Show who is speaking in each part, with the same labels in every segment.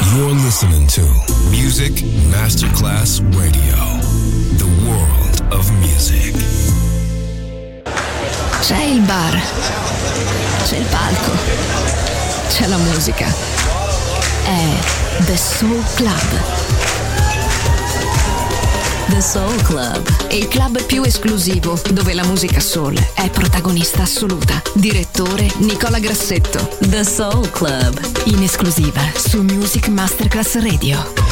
Speaker 1: You're listening to Music Masterclass Radio, the world of music.
Speaker 2: C'è il bar, c'è il palco, c'è la musica. È The Soul Club. The Soul Club, il club più esclusivo dove la musica soul è protagonista assoluta. Direttore Nicola Grassetto. The Soul Club, in esclusiva su Music Masterclass Radio.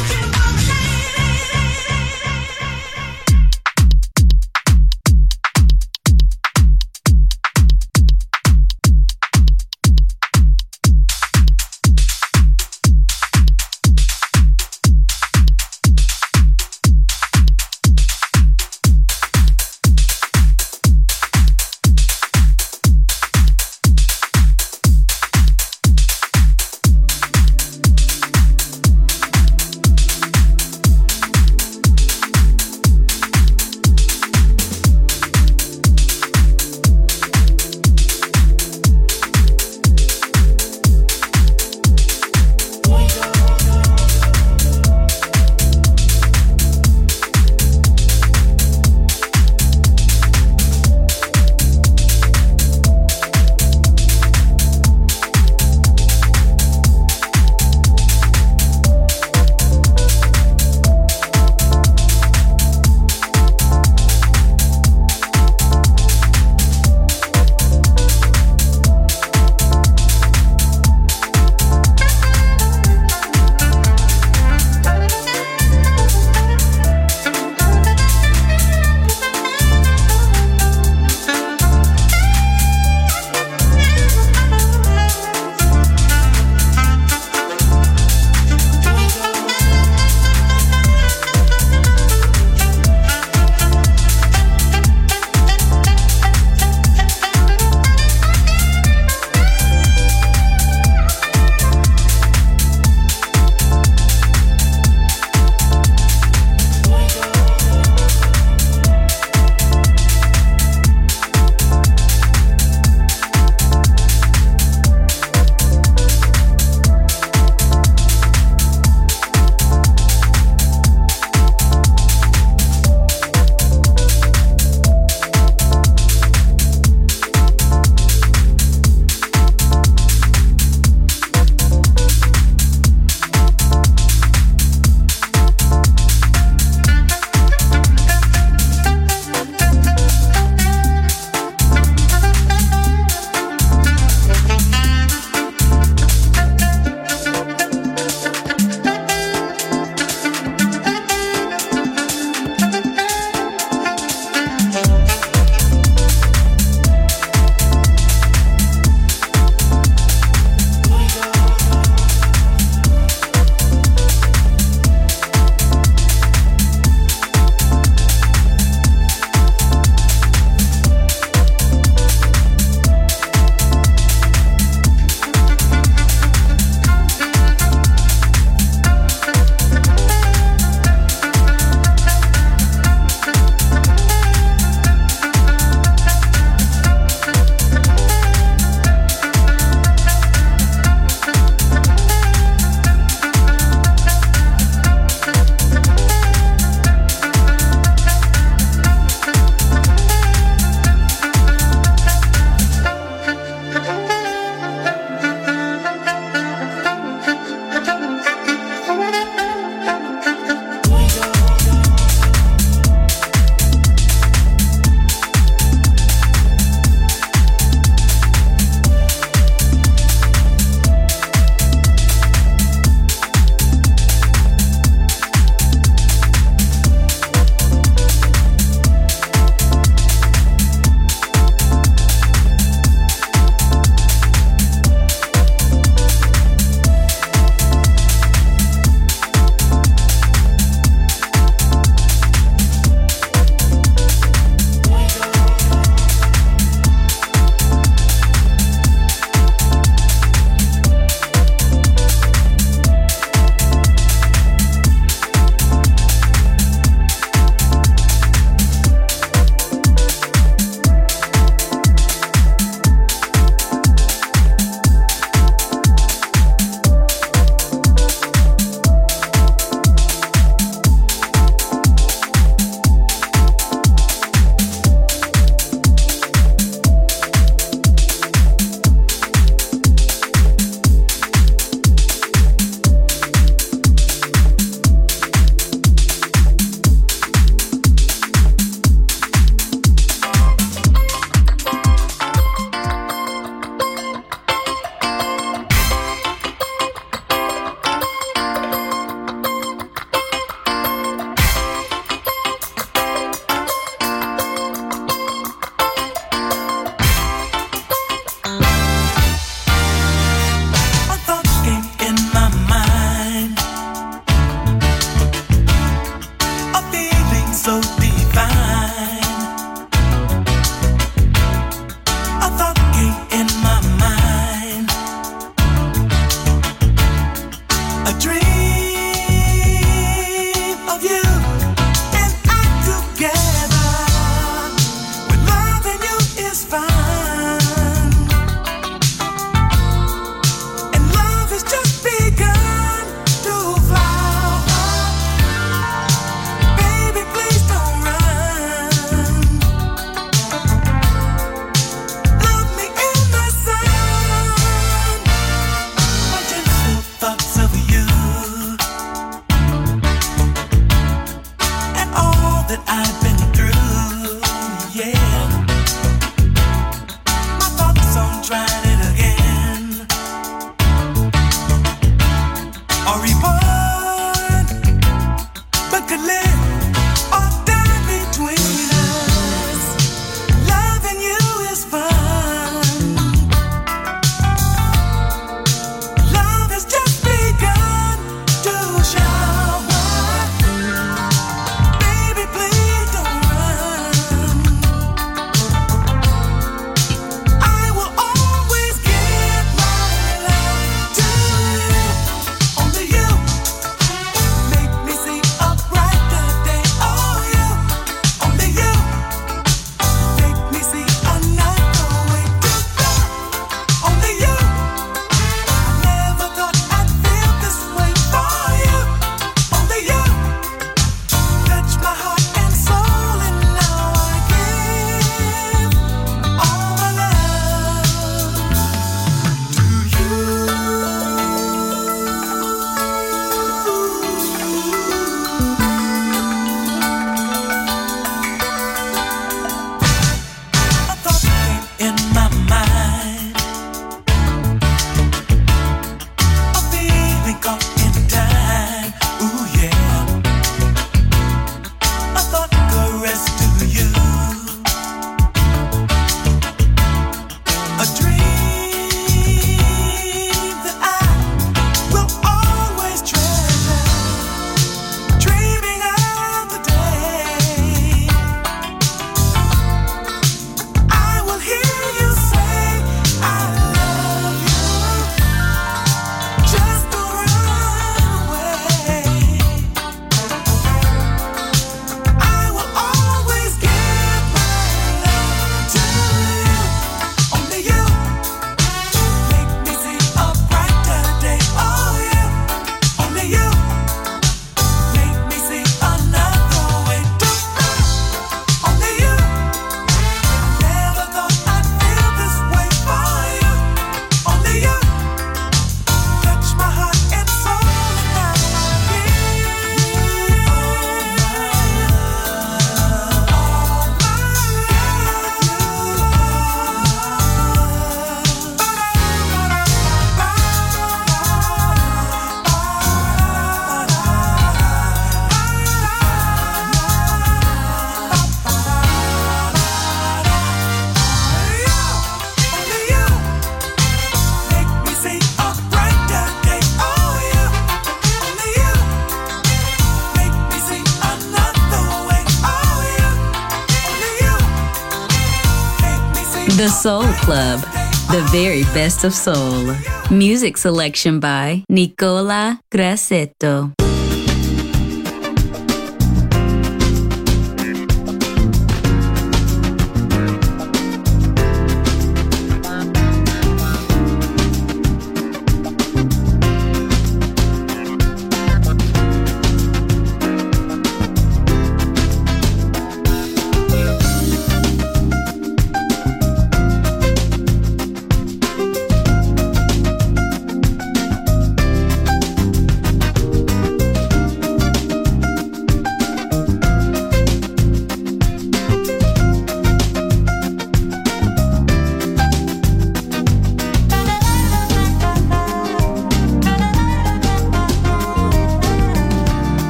Speaker 3: Soul Club, the very best of soul. Music selection by Nicola Grassetto.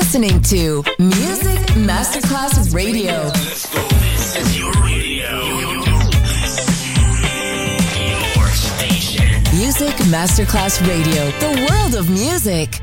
Speaker 2: listening to Music Masterclass Radio.
Speaker 1: Let's go. This is your radio. Your station.
Speaker 2: Music Masterclass Radio. The world of music.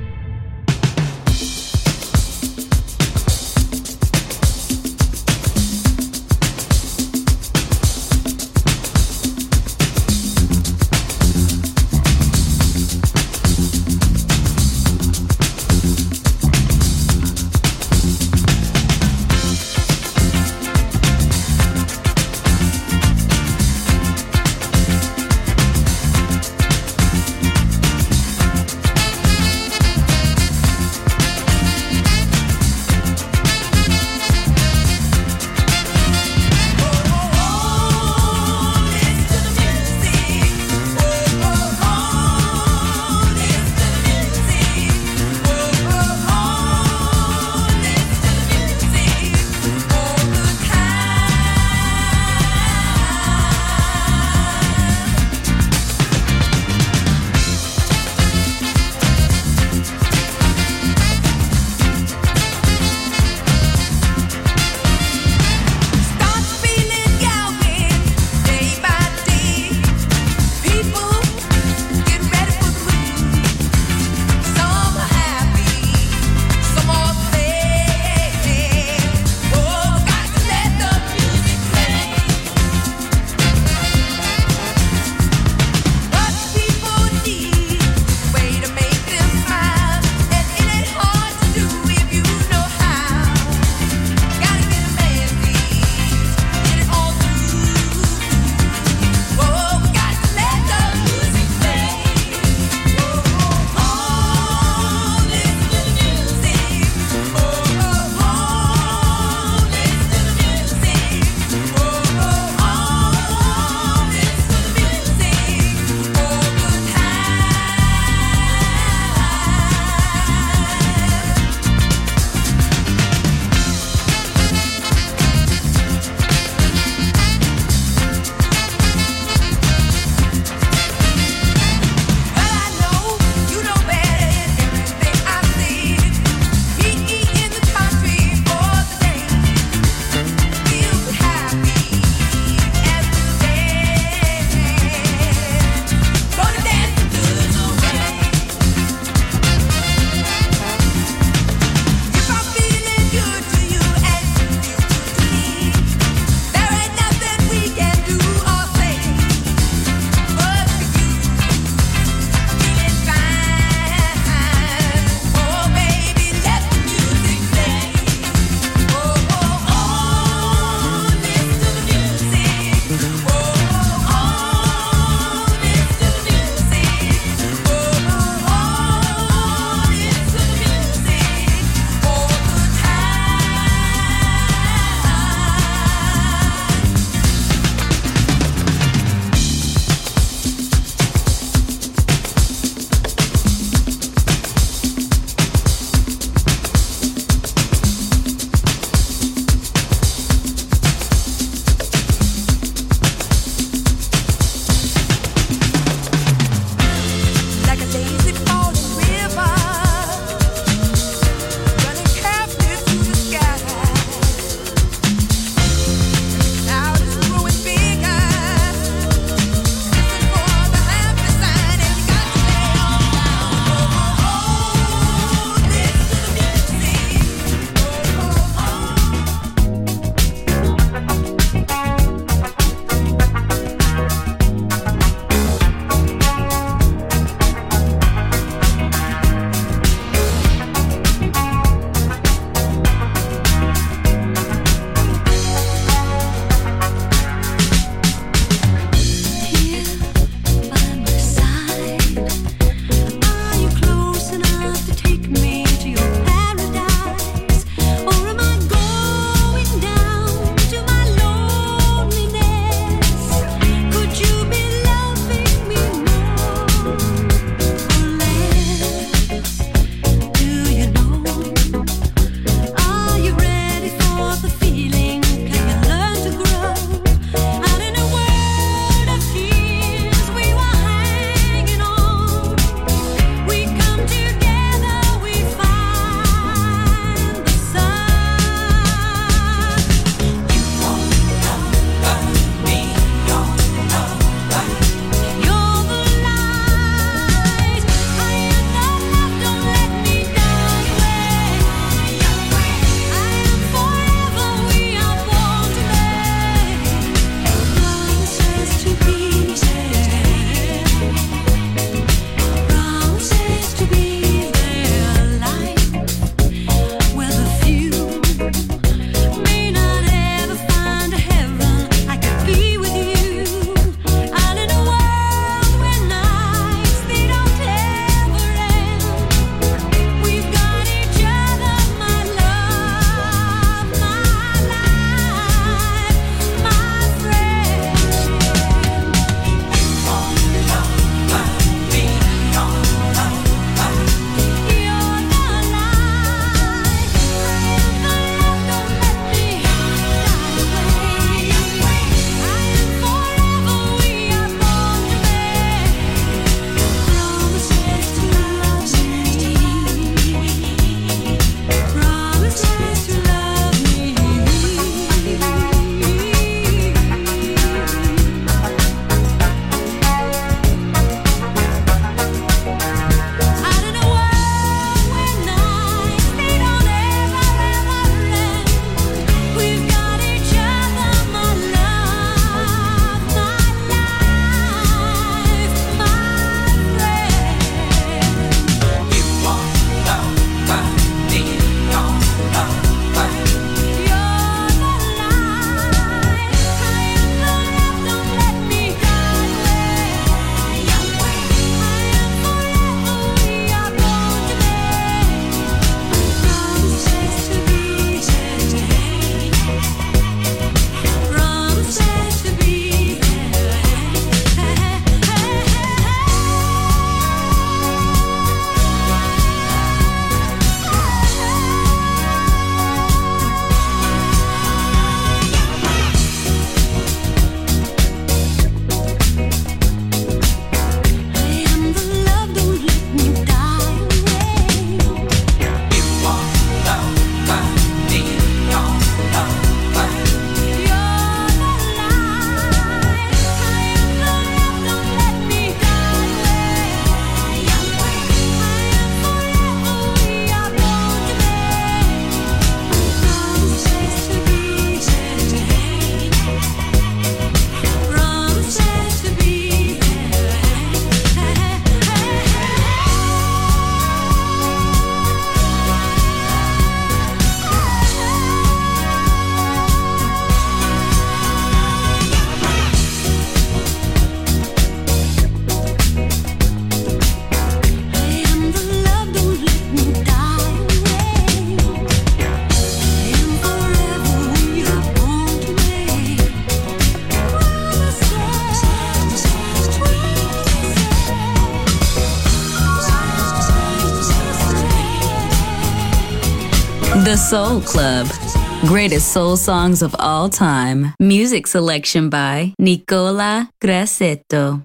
Speaker 3: The Soul Club. Greatest soul songs of all time. Music selection by Nicola Grassetto.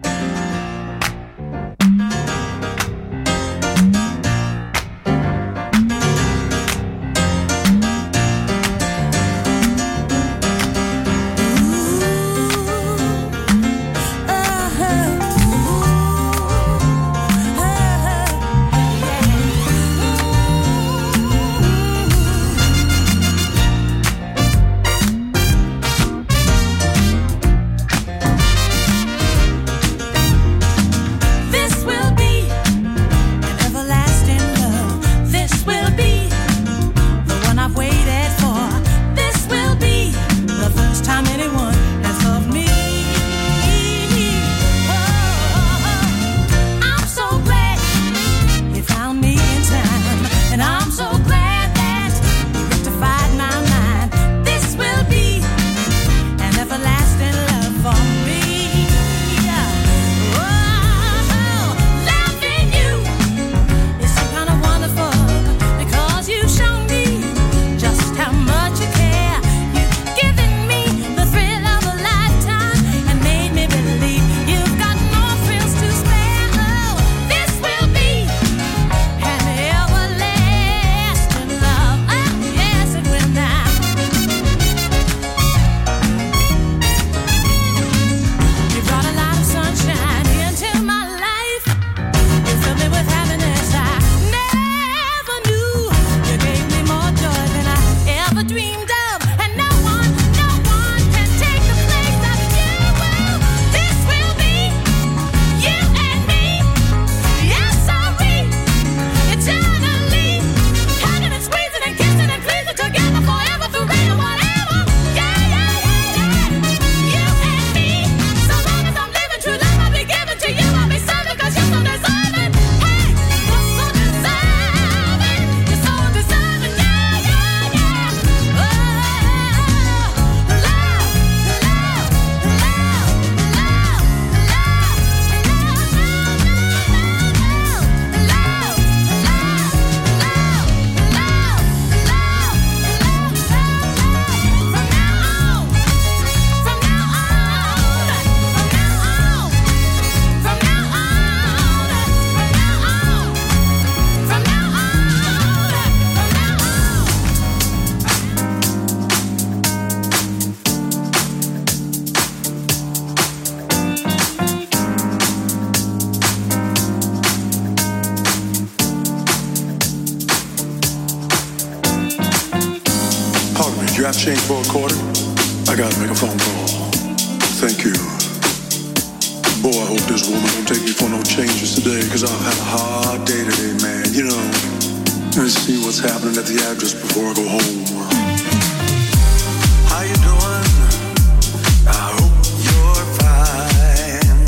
Speaker 4: You have change for a quarter? I gotta make a phone call. Thank you. Boy, I hope this woman don't take me for no changes today, cause I've had a hard day today, man. You know, let me see what's happening at the address before I go home. How you doing? I hope you're fine.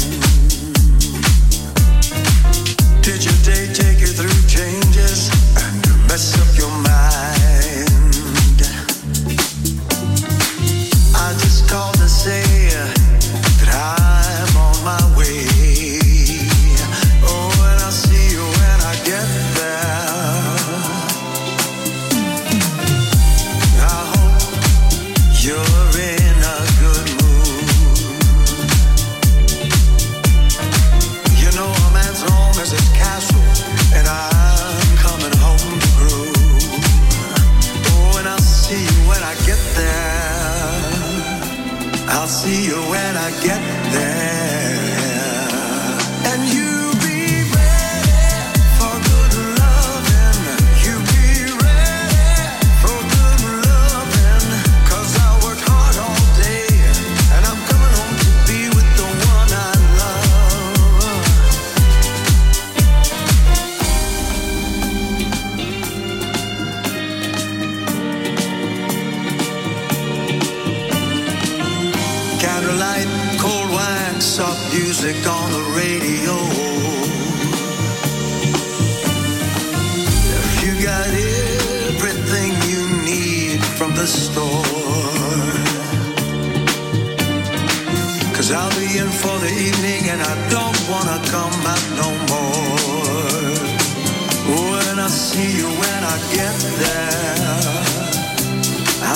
Speaker 4: Did your day take you through changes and mess up your mind? I just called to say that I'm on my way. Oh, and I'll see you when I get there. I hope you're in a good mood. You know a man's home is his castle, and I'm coming home to groove. Oh, and I'll see you when I get there. I'll see you when I get there. And you be ready for good loving. You be ready for good loving. Cause I work hard all day, and I'm coming home to be with the one I candlelight, cold wine, soft music on the radio. You got everything you need from the store. Cause I'll be in for the evening and I don't wanna come back no more. Oh, and I'll see you when I get there.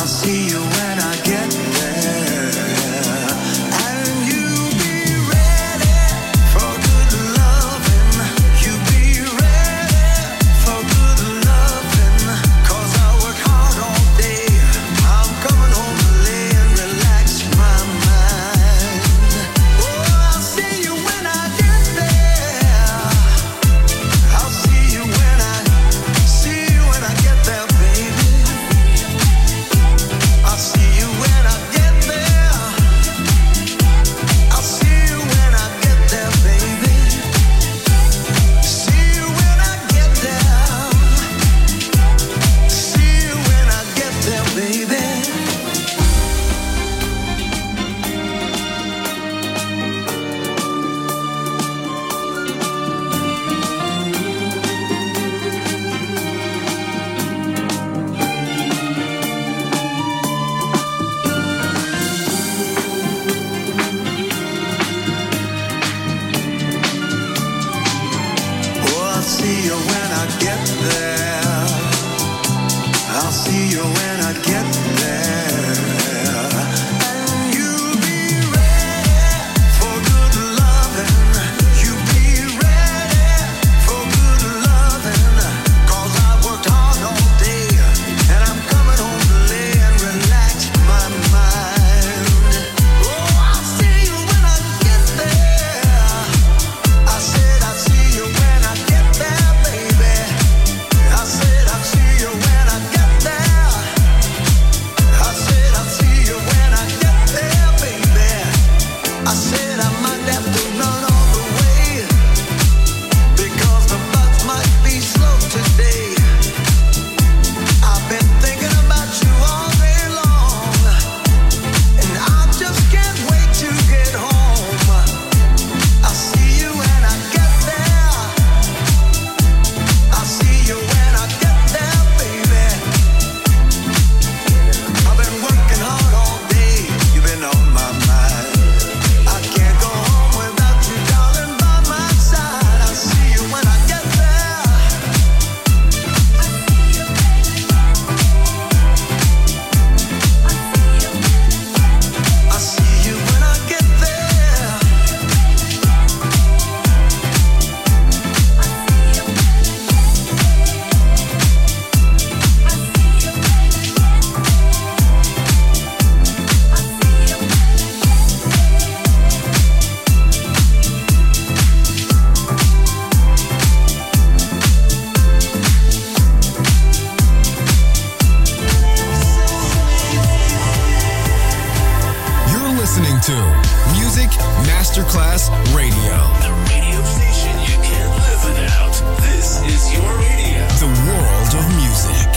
Speaker 1: Masterclass Radio.
Speaker 5: The radio station you can't live without. This is your radio.
Speaker 1: The world of music.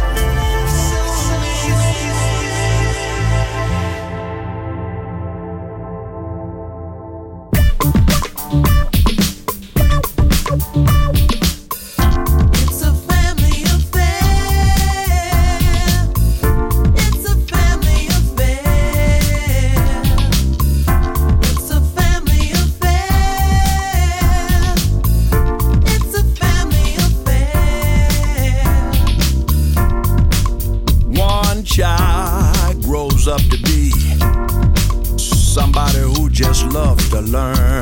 Speaker 6: Up to be somebody who just loves to learn.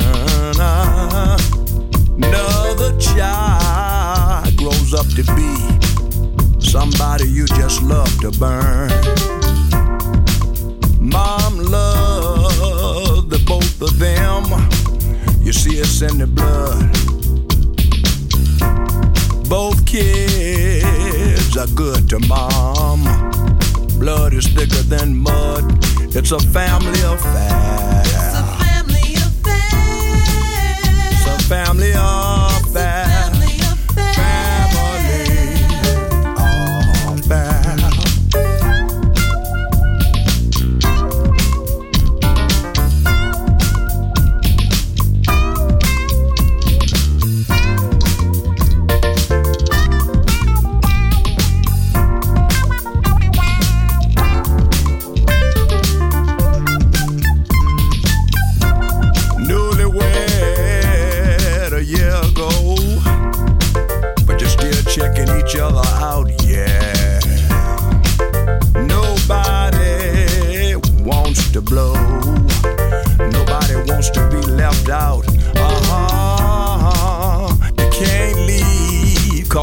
Speaker 6: Another child grows up to be somebody you just love to burn. Mom loved the both of them. You see it's in the blood. Both kids are good to mom. Blood is thicker than mud. It's a family affair.
Speaker 7: It's a family affair.
Speaker 6: It's a family affair.
Speaker 7: Family affair.
Speaker 6: Yeah.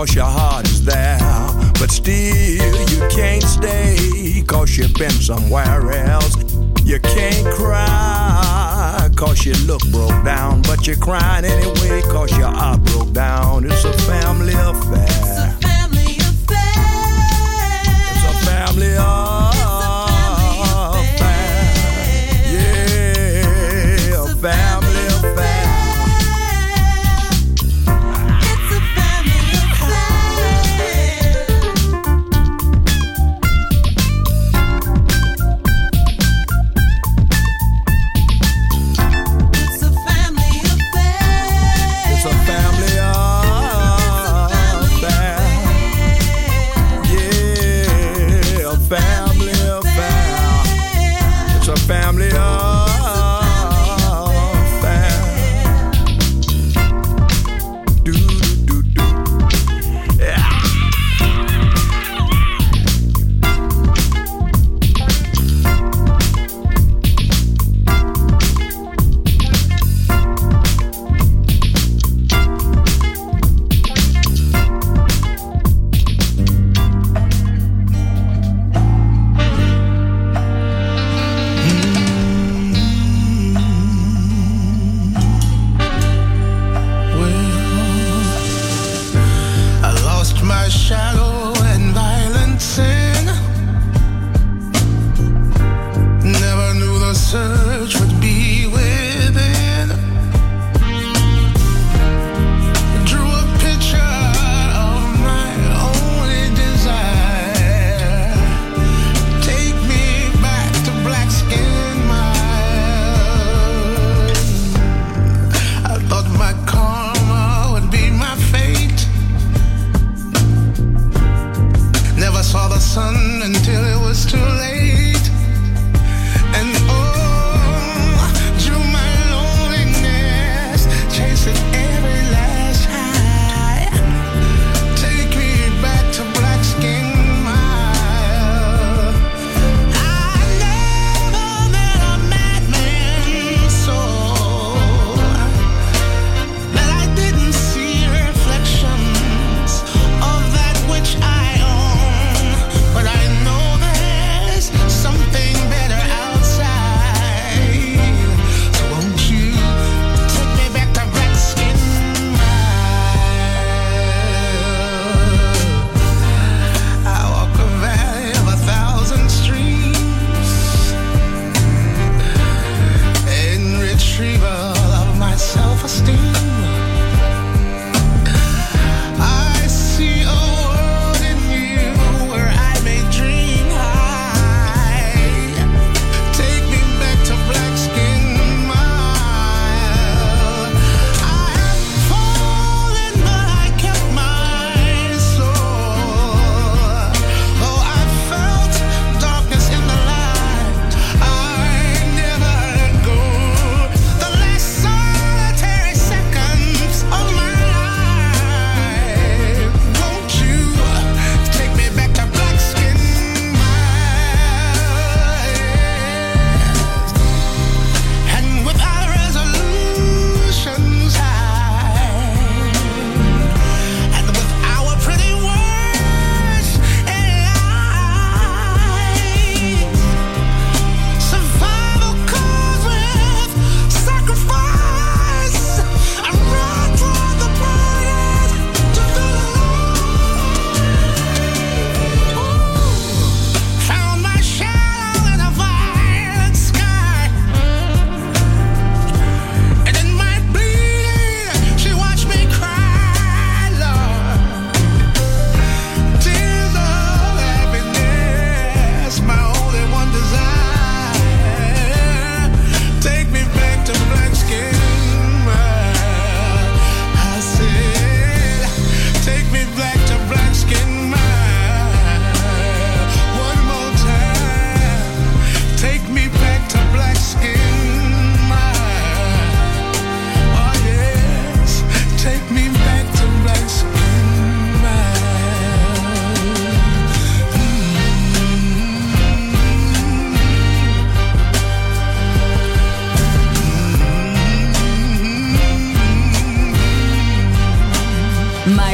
Speaker 6: 'cause your heart is there. But still you can't stay 'cause you've been somewhere else. You can't cry 'cause you look broke down, but you're crying anyway 'cause your heart broke down. It's a family affair.
Speaker 7: It's a family affair.
Speaker 6: It's a family affair. Yeah, a family affair.
Speaker 7: It's a family affair. It's a family affair.
Speaker 6: It's a family affair. Yeah, a family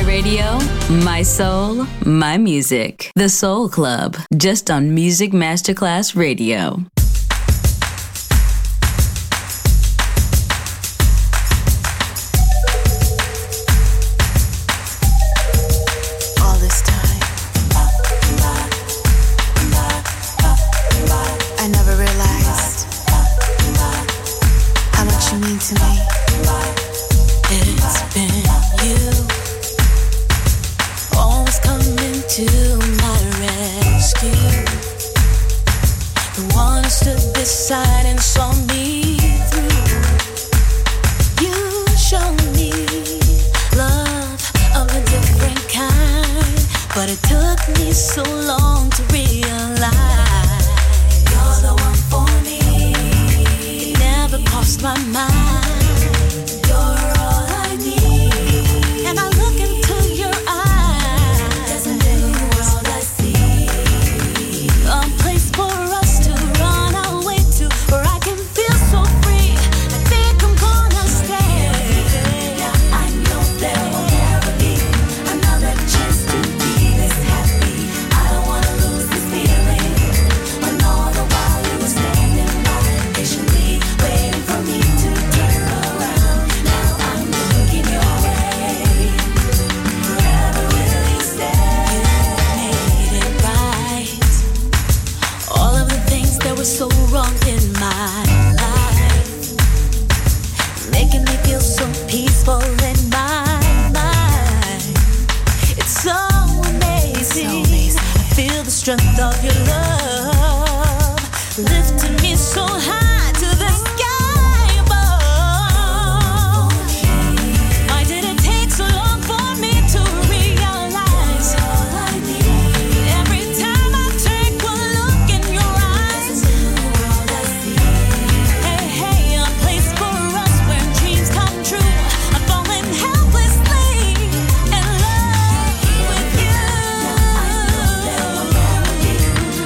Speaker 3: radio, my soul, my music. The Soul Club, just on Music Masterclass Radio.
Speaker 8: All this time, I never realized how much you mean to me. It's been you, always coming to my rescue. The one who stood beside and saw me through. You showed me love of a different kind, but it took me so long to realize you're the one for me. It never crossed my mind. You're all I need. And I look into your eyes. There's a new world I see. A place for us to run away to, where I can feel so free. I think I'm gonna stay. Yeah, I know there will never be another chance to be this happy. I don't wanna lose this feeling. When all the while you were standing by patiently waiting for me to turn around. Now I'm looking your way. Forever will you stay? You made it right. All of the things that were so wrong in my life, making me feel so peaceful in my mind. It's so amazing. I feel the strength of your love, lifting me so high to the sky above. Why did it take so long for me to realize every time I take one look in your eyes? Hey, hey, a place for us where dreams come true. I'm falling helplessly in love with you.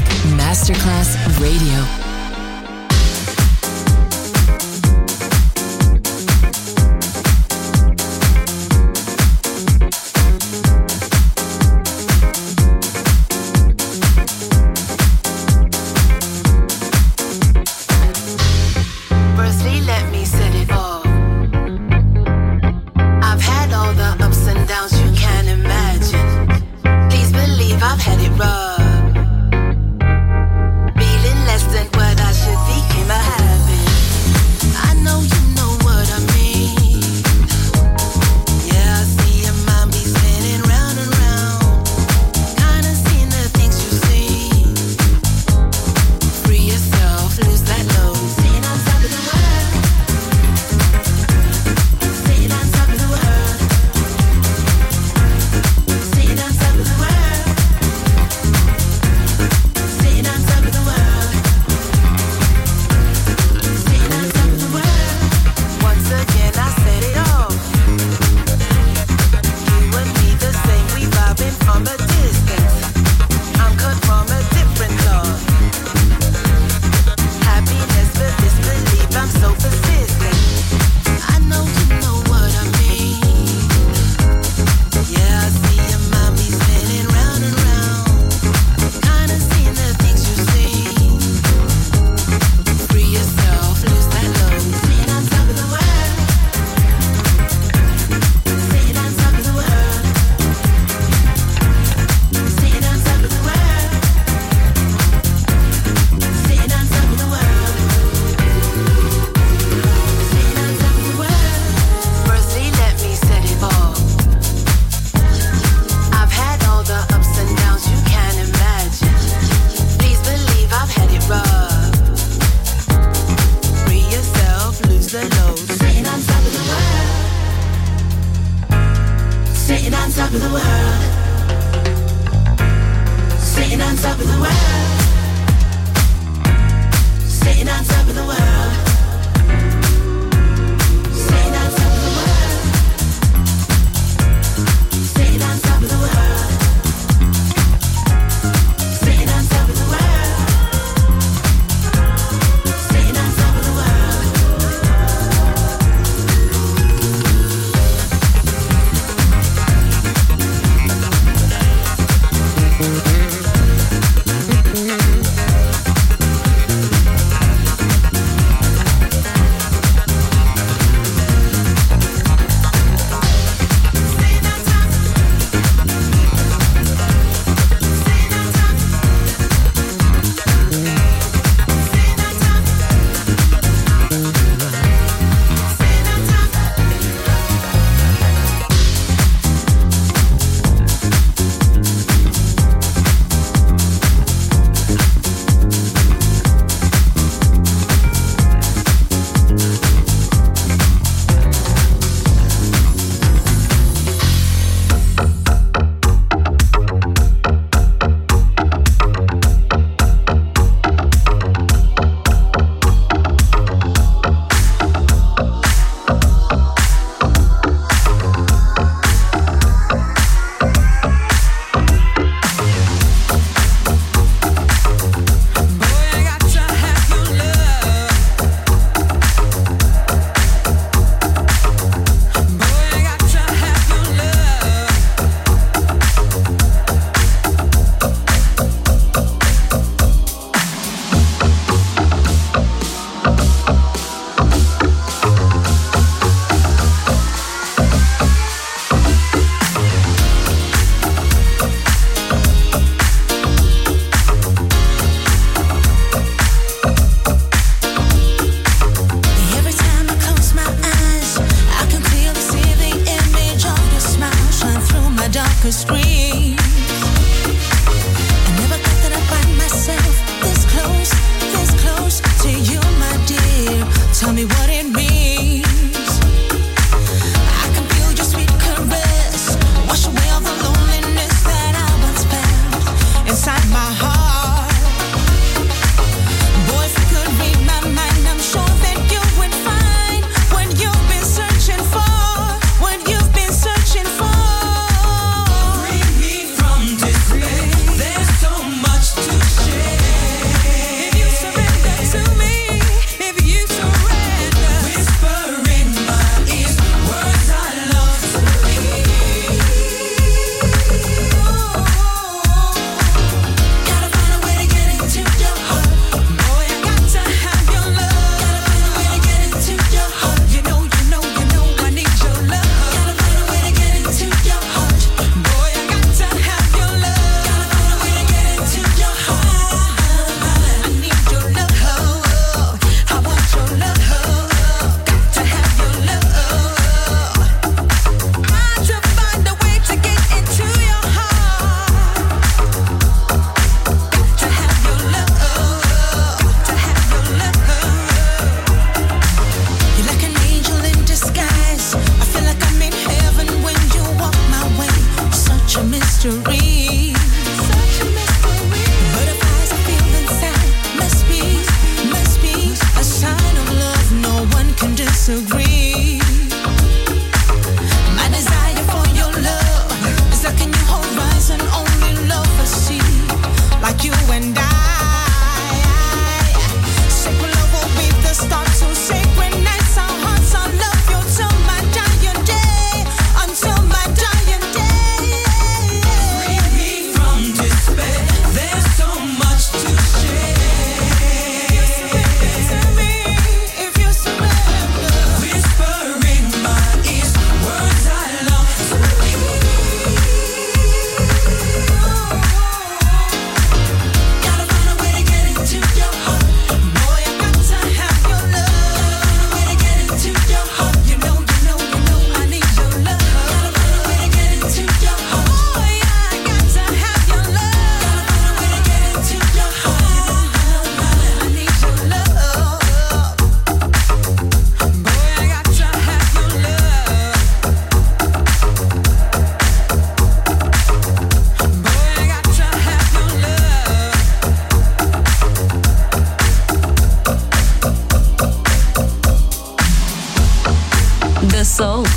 Speaker 2: Music Masterclass Radio.
Speaker 9: Firstly, let me set it off. I've had all the ups and downs you can imagine. Please believe I've had it rough. Feeling less than what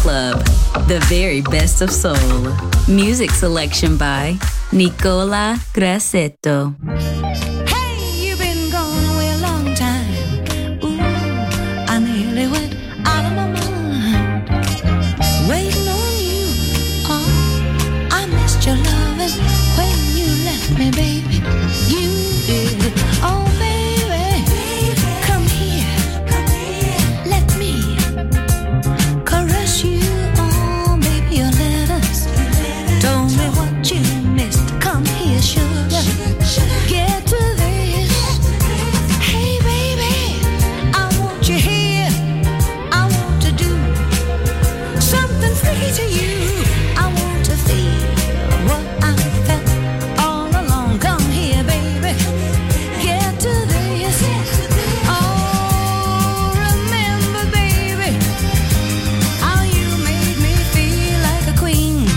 Speaker 3: Club, the very best of soul. Music selection by Nicola Grassetto.
Speaker 8: Hey, you've been gone away a long time. Ooh, I nearly went out of my mind. Waiting on you. Oh, I missed your loving when you left me, baby. You did. Oh, baby, come here. Let me caress you. Oh, baby, your letters told me what you missed. Come here, sugar. Get to this. Hey, baby, I want you here. I want to do something freaky to you. I want to feel what I felt all along. Come here, baby. Get to this. Oh, remember, baby, how you made me feel like a queen.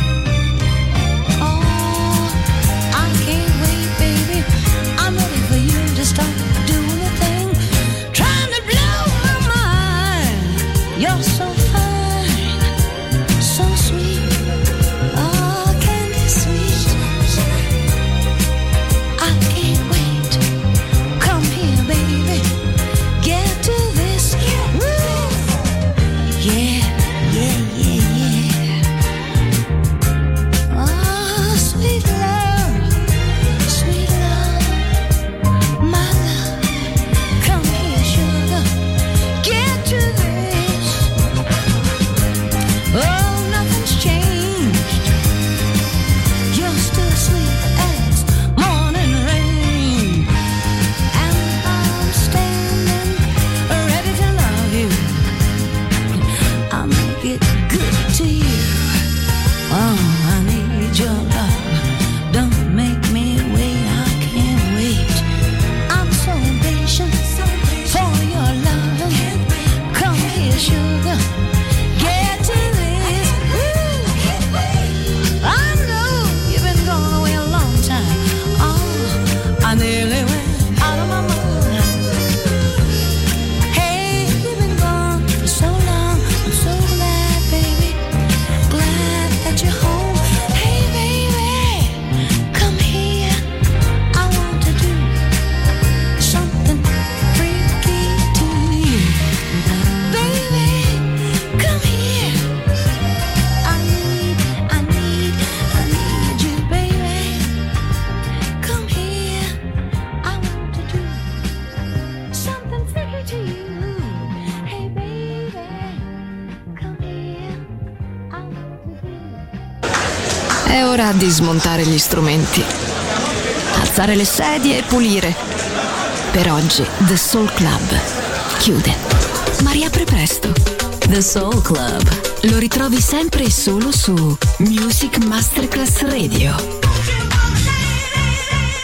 Speaker 8: Oh, I can't wait, baby. I'm ready for you to start doing the thing, trying to blow my mind. You're so fine, so sweet. Oh, candy sweet. I can't wait. Come here, baby. Get to this. Woo! Yeah, yeah, yeah, yeah. Oh, sweet love, my love. Come here, sugar. Get to this. Oh, nothing's changed. You're still sweet as morning rain, and I'm standing ready to love you. I'll make it good to you. Oh, I need your love. Don't make me wait. I can't wait. I'm so impatient for your love. Come here, sugar. Get to this. Woo! I know you've been gone away a long time. Oh, I nearly went out of my mind. Hey, you've been gone for so long. I'm so glad, baby. Glad that you're home. Hey, baby, come here. I want to do something freaky to you. Baby, come here. I need you, baby. Come here. I want to do something freaky to you. Hey, baby, come here. I want to do.
Speaker 2: È ora di smontare gli strumenti, alzare le sedie e pulire. Per oggi The Soul Club chiude, ma riapre presto.
Speaker 3: The Soul Club.
Speaker 2: Lo ritrovi sempre e solo su Music Masterclass Radio.